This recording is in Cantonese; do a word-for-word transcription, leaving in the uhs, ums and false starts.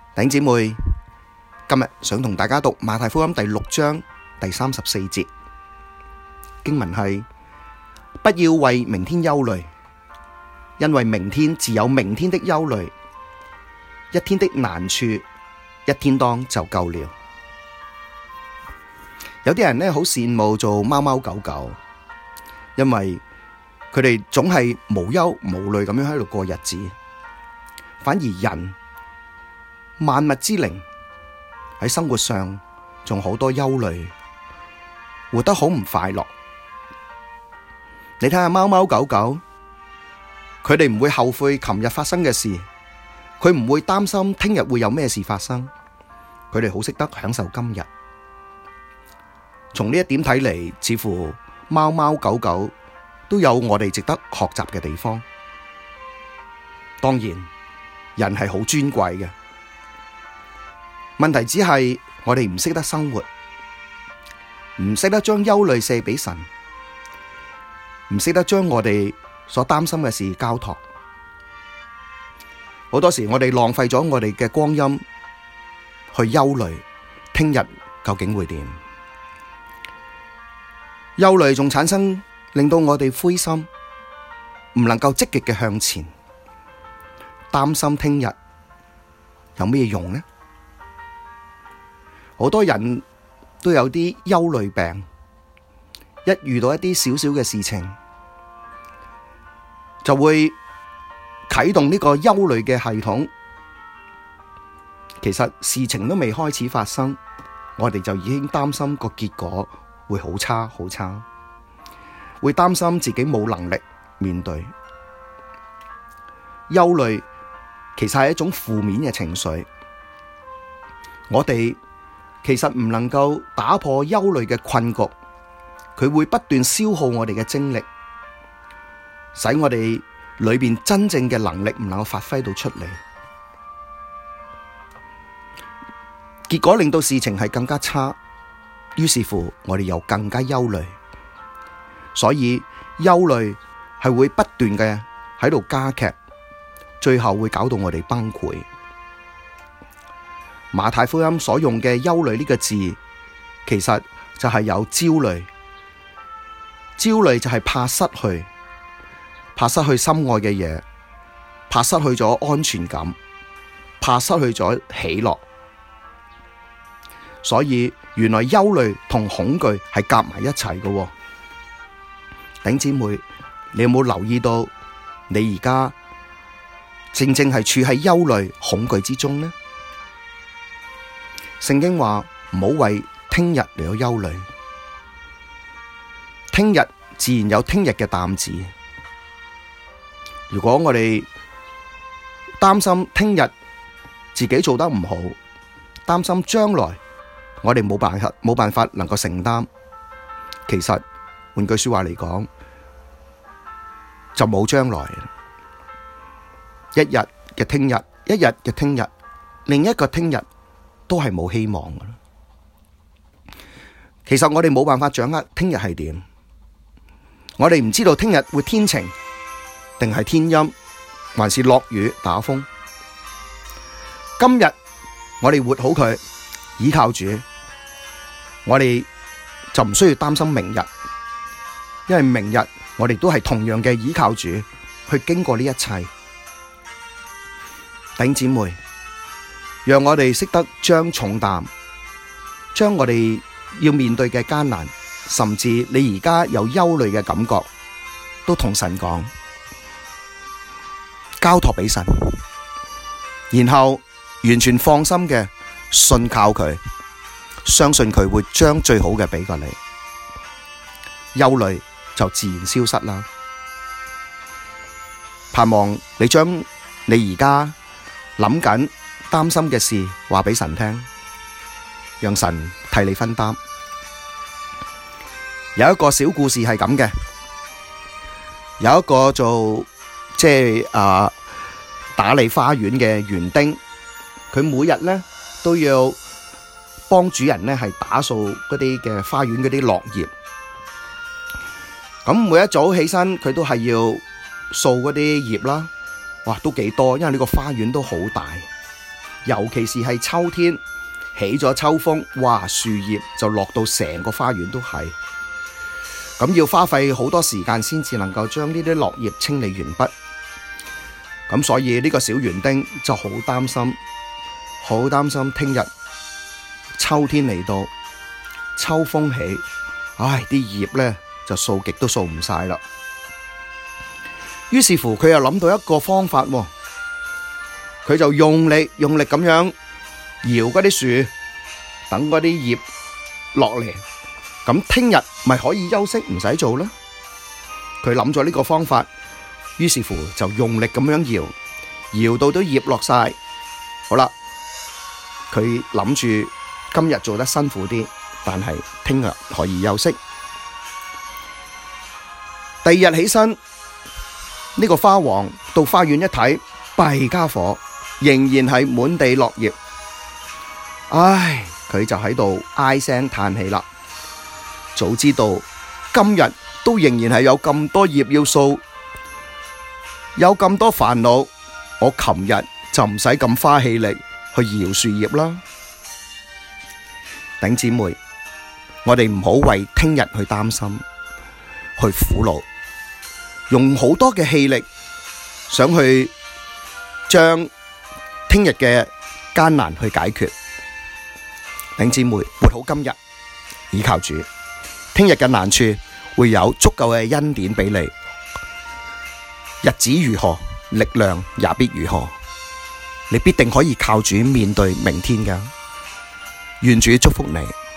弟兄姊妹，今日想同大家讀馬太福音第六章第三十四節經文係：不要為明天憂慮，因為明天自有明天的憂慮，一天的難處一天當就夠了。有啲人呢好羨慕做貓貓狗狗，因為佢哋總係無憂無慮咁樣喺度過日子，反而人萬物之靈喺生活上仲好多憂慮，活得好唔快樂。你睇下貓貓狗狗，佢哋唔會後悔琴日發生嘅事，佢唔會擔心聽日會有咩事發生，佢哋好識得享受今日。從呢一點睇嚟，似乎貓貓狗狗都有我哋值得學習嘅地方。當然，人係好尊貴嘅。問題只係我哋唔識得生活，唔識得將憂慮卸俾神，唔識得將我哋所擔心嘅事交託。好多時我哋浪費咗我哋嘅光陰去憂慮聽日究竟會點。憂慮仲產生令到我哋灰心，唔能夠積極嘅向前，擔心聽日有咩用呢？好多人都有啲憂慮病，一遇到一啲小小嘅事情，就會啟動呢個憂慮嘅系統。其實事情都未開始發生，我哋就已經擔心個結果會好差好差，會擔心自己冇能力面對。憂慮其實係一種負面嘅情緒，我哋其實唔能夠打破憂慮嘅困局，佢會不斷消耗我哋嘅精力，使我哋裏邊真正嘅能力唔能夠發揮到出嚟，結果令到事情係更加差，於是乎我哋又更加憂慮，所以憂慮係會不斷嘅喺度加劇，最後會搞到我哋崩潰。馬太福音所用嘅憂慮呢個字，其實就係有焦慮。焦慮就係怕失去，怕失去心愛嘅嘢，怕失去咗安全感，怕失去咗喜樂。所以原來憂慮同恐懼係夾埋一齊嘅。弟兄姊妹，你有冇留意到你而家正正係處喺憂慮恐懼之中呢？聖經話唔好為聽日嚟到憂慮，聽日自然有聽日嘅擔子。如果我哋擔心聽日自己做得唔好，擔心將來我哋冇辦法冇辦法能夠承擔，其實換句說話嚟講，就冇將來。一日嘅聽日，一日嘅聽日，另一個聽日都係冇希望㗎喇。其實我哋冇辦法掌握聽日係點，我哋唔知道聽日會天晴定係天陰，還是落雨打風。今日我哋活好佢，倚靠主，我哋就唔需要擔心明日，因為明日我哋都係同樣嘅倚靠主去經過呢一切。弟兄姊妹，讓我哋識得將重擔，將我哋要面對嘅艱難，甚至你而家有憂慮嘅感覺，都同神講，交託俾神，然後完全放心嘅信靠佢，相信佢會將最好嘅俾過你，憂慮就自然消失啦。盼望你將你而家諗緊擔心嘅事話俾神聽，讓神替你分擔。有一個小故事係咁嘅，有一個做即係啊打理花園嘅園丁，佢每日咧都要幫主人咧係打掃嗰啲嘅花園嗰啲落葉。咁每一早起身，佢都係要掃嗰啲葉啦。哇，都幾多，因為呢個花園都好大。 尤其是係秋天起咗秋風，哇，樹葉就落到成個花園都係，咁要花費好多時間先至能夠將呢啲落葉清理完畢。咁所以呢個小園丁就好擔心，好擔心聽日秋天嚟到，秋風起，唉，啲葉咧就掃極都掃唔晒啦。於是乎佢又諗到一個方法，佢就用力用力咁樣搖嗰啲樹，等嗰啲葉落嚟，咁聽日咪可以休息唔使做啦。佢諗咗呢個方法，於是乎就用力咁樣搖，搖到啲葉落晒。好啦，佢諗住今日做得辛苦啲，但係聽日可以休息。第二日起身，呢個花王到花園一睇，弊家伙，仍然係滿地落葉。唉，佢就喺度唉聲嘆氣啦。早知道今日都仍然係有咁多葉要掃，有咁多煩惱，我琴日就唔使咁花氣力去搖樹葉啦。頂姊妹，我哋唔好為聽日去擔心，去苦惱，用好多嘅氣力想去將聽日嘅艱難去解決。頂姊妹，活好今日，倚靠主，聽日嘅難處會有足夠嘅恩典俾你。日子如何，力量也必如何，你必定可以靠主面對明天㗎。願主祝福你。